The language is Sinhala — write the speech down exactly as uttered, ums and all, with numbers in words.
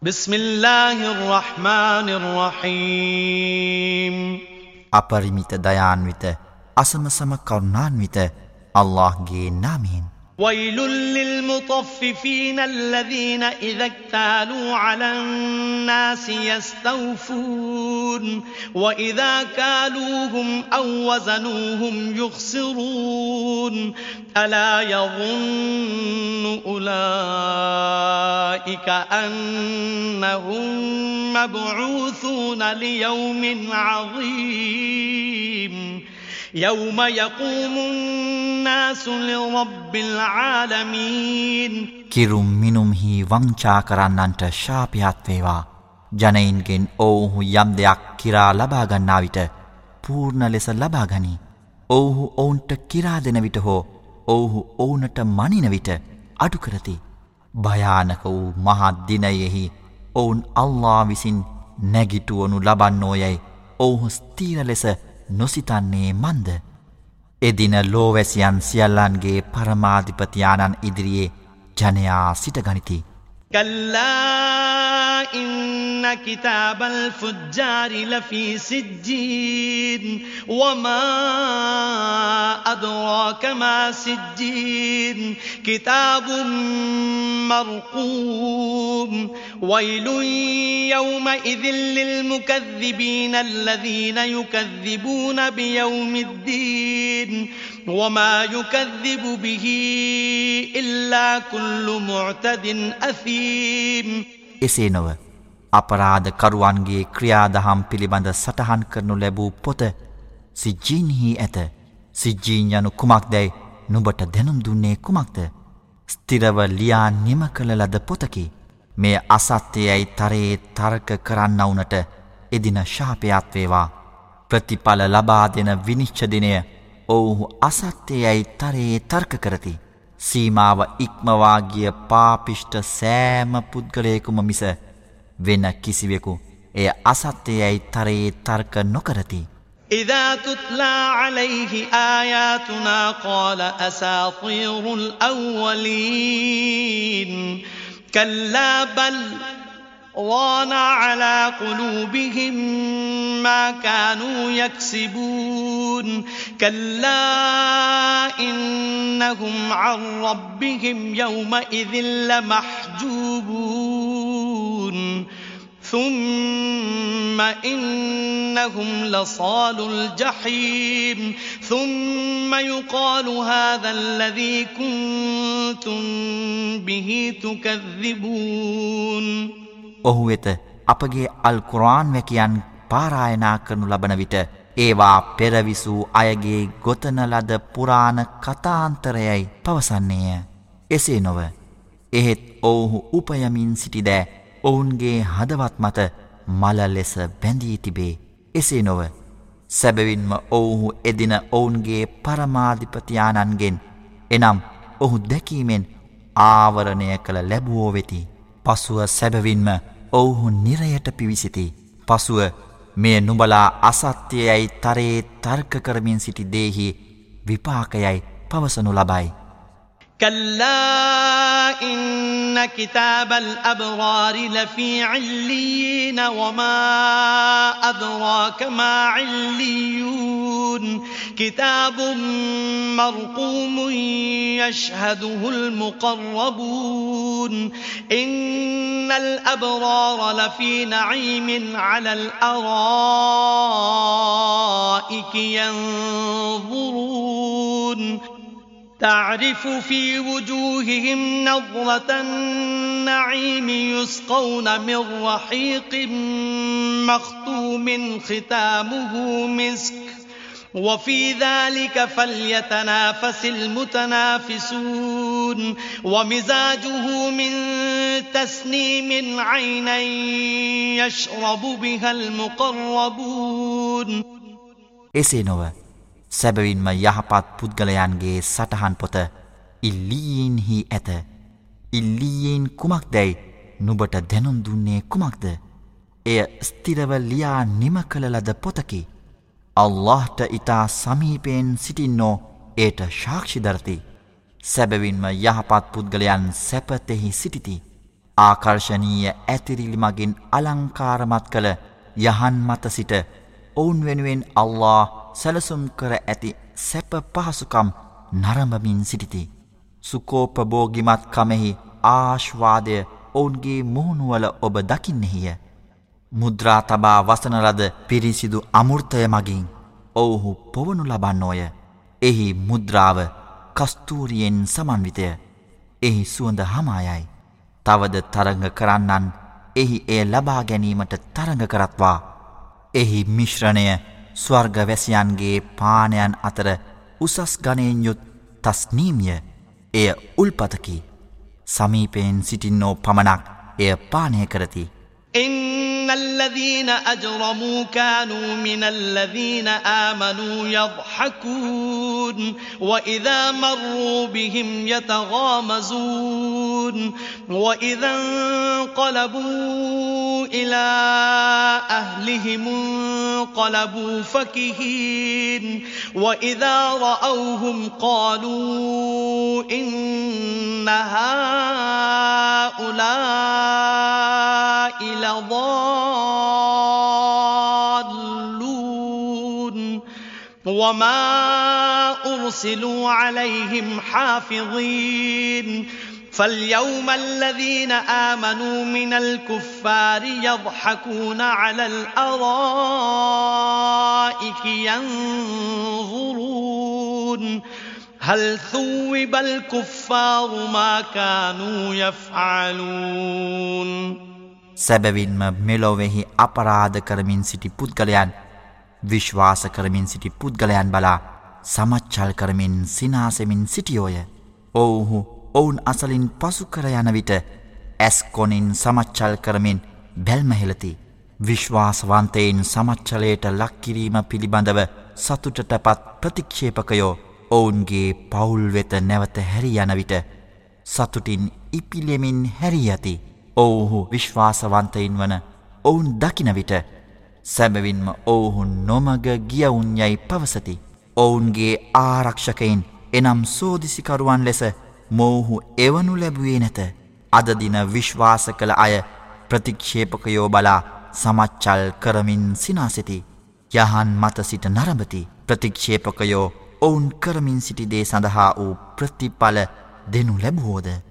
بسم الله الرحمن الرحيم අපරිමිත දයාන්විත අසමසම කරුණාන්විත අල්ලාහ්ගේ නාමයෙන් ويل للمطففين الذين إذا اكتالوا على الناس يستوفون وإذا كالوهم أو وزنوهم يخسرون ألا يظن أولئك أنهم مبعوثون ليوم عظيم يوم يقوم الناس لرب العالمين කිරුම් මිනුම්හි වංචා කරන්නන්ට ශාපයක් වේවා. ජනයින්ගෙන් ඔවුහු යම් දෙයක් කිරා ලබා ගන්නා විට පූර්ණ ලෙස ලබා ගනි. ඔවුහු ඔවුන්ට කිරා දෙන විට හෝ ඔවුහු ඔවුනට මනින විට අඩු කරති. භයානක වූ මහත් දිනයෙහි ඔවුන් අල්ලාහ් විසින් නැගිටවනු ලබන්නෝයයි ඔවුහු ස්ථීර ලෙස නොසිතන්නේ මන්ද. එදින ලෝවැසියන් සියල්ලන්ගේ පරමාධිපතියාණන් ඉදිරියේ ජනයා සිටගනිති. كلا إن كتاب الفجار لفي سجين وما أدراك ما سجين كتاب مرقوم ويل يومئذ للمكذبين الذين يكذبون بيوم الدين وما يكذب به إلا كل معتد أثيم එසේ නොව අපරාධ කරුවන්ගේ ක්‍රියාදහම් පිළිබඳ සටහන් කරනු ලැබූ පොත සිජ්ජීන්හි ඇත. සිජ්ජීන් යනු කුමක්දැයි නුඹට දැනුම් දුන්නේ කුමක්ද? ස්ථිරව ලියා නිම කළ ලද පොතකි. මේ අසත්‍යයයි තරයේ තර්ක කරන්නවුනට එදින ශාපයක් වේවා. ප්‍රතිඵල ලබා දෙන විනිශ්චය දිනය ඔවුහු අසත්‍යයයි තරයේ තර්ක කරති. සීමාව ඉක්මවා ගිය පාපිෂ්ඨ සෑම පුද්ගලයෙකුම මිස වෙන කිසිවෙකු එය අසත්‍යයයි තරයේ තර්ක නොකරති. إذا تتلى عليه آياتنا قال أساطير الأولين كلا بل ران على قلوبهم ما كانوا يكسبون كلا إنهم عن ربهم يومئذ لمحجوبون ثم إنهم لصال الجحيم ثم يقال هذا الذي كنتم به تكذبون ඔහු වෙත අපගේ අල් කුර්ආන් වැකියන් පාරායනා කරනු ලබන විට ඒවා පෙරවිසූ අයගේ ගොතන ලද පුරාණ කතාන්තරයයි පවසන්නේය. එසේ නොව එහෙත් ඔවුහු උපයමින් සිටිදෑ ඔවුන්ගේ හදවත් මත මල ලෙස බැඳී තිබේ. එසේ නොව සැබවින්ම ඔවුහු එදින ඔවුන්ගේ පරමාධිපතියාණන්ගෙන් එනම් ඔහු දැකීමෙන් ආවරණය කළ ලැබුවෝ වෙති. පසුව සැබවින්ම ඔවුහු නිරයට පිවිසිති. පසුව මේ නුඹලා අසත්‍යයයි තරයේ තර්ක කරමින් සිටි දේහි විපාකයයි පවසනු ලබයි. كلا إن كتاب الأبرار لفي عليين وما أدراك ما عليون كتاب مرقوم يشهده المقربون إن الأبرار لفي نعيم على الأرائك ينظرون تعرف في وجوههم نظرة النعيم يسقون من رحيق مختوم ختامه مسك وفي ذلك فليتنافس المتنافسون ومزاجه من تسنيم عينا يشرب بها المقربون එසේ නොව සැබවින්ම යහපත් පුද්ගලයන්ගේ සටහන් පොත ඉල්ලීන්හි ඇත. ඉල්ලීන් කුමක්දැයි නුබට දැනුම් දුන්නේ කුමක්ද? එය ස්ථිරව ලියා නිම කළ ලද පොතකි. අල්ලාහ්ට ඉතා සමීපයෙන් සිටින්නෝ ඒට සාක්ෂි දරති. සැබවින්ම යහපත් පුද්ගලයන් සැපතෙහි සිටිති. ආකර්ශනීය ඇතිරිලි මගින් අලංකාරමත් කළ යහන් මත සිට ඔවුන් වෙනුවෙන් අල්ලාහ් සැලසුම් කර ඇති සැප පහසුකම් නරඹමින් සිටිති. සුකෝපභෝගිමත් කමෙහි ආශ්වාදය ඔවුන්ගේ මුහුණුවල ඔබ දකින්නෙහිය. මුද්‍රා තබා වසන ලද පිරිසිදු අමෘතය මගින් ඔවුහු පොවනු ලබන්නෝය. එහි මුද්‍රාව කස්තූරියෙන් සමන්විතය. එහි සුවඳ හමායයි. තවද තරඟ කරන්නන් එහි එය ලබා ගැනීමට තරඟ කරත්වා. එහි මිශ්‍රණය ස්වර්ගවැසියන්ගේ පානයන් අතර උසස් ගණයෙන් යුත් තස්නීම්ය. එය උල්පතකි. සමීපයෙන් සිටින්නෝ පමණක් එය පානය කරති. إن الذين أجرموا كانوا من الذين آمنوا يضحكون وإذا مروا بهم يتغامزون وإذا انقلبوا إلى أهلهم انقلبوا فكهين وإذا رأوهم قالوا إن هؤلاء لضالون وما أرسلوا عليهم حافظين فاليوم الذين آمنوا من الكفار يضحكون على الأرائك ينظرون هل ثوب الكفار ما كانوا يفعلون සැබවින්ම මෙලොවෙහි අපරාධ කරමින් සිටි පුද්ගලයන් විශ්වාස කරමින් සිටි පුද්ගලයන් බලා සමච්චල් කරමින් සිනාසෙමින් සිටියෝය. ඔවුහු ඔවුන් අසලින් පසු කර යන විට ඇස් කොනින් සමච්චල් කරමින් බැල්මහෙලති. විශ්වාසවන්තයින් සමච්චලයට ලක්කිරීම පිළිබඳව සතුටටපත් ප්‍රතික්ෂේපකයෝ ඔවුන්ගේ පවුල් වෙත නැවත හැරි යන විට සතුටින් ඉපිලෙමින් හැරී යති. ඔවුහු විශ්වාසවන්තයින් වන ඔවුන් දකින විට සැබවින්ම ඔවුහු නොමග ගියවුන් යයි පවසති. ඔවුන්ගේ ආරක්ෂකයින් එනම් සෝදිසිකරුවන් ලෙස මොවුහු එවනු ලැබුවේ නැත. අද දින විශ්වාස කළ අය ප්‍රතික්ෂේපකයෝ බලා සමච්චල් කරමින් සිනාසෙති. යහන් මත සිට නරඹති. ප්‍රතික්ෂේපකයෝ ඔවුන් කරමින් සිටි දේ සඳහා වූ ප්‍රතිඵල දෙනු ලැබුවෝද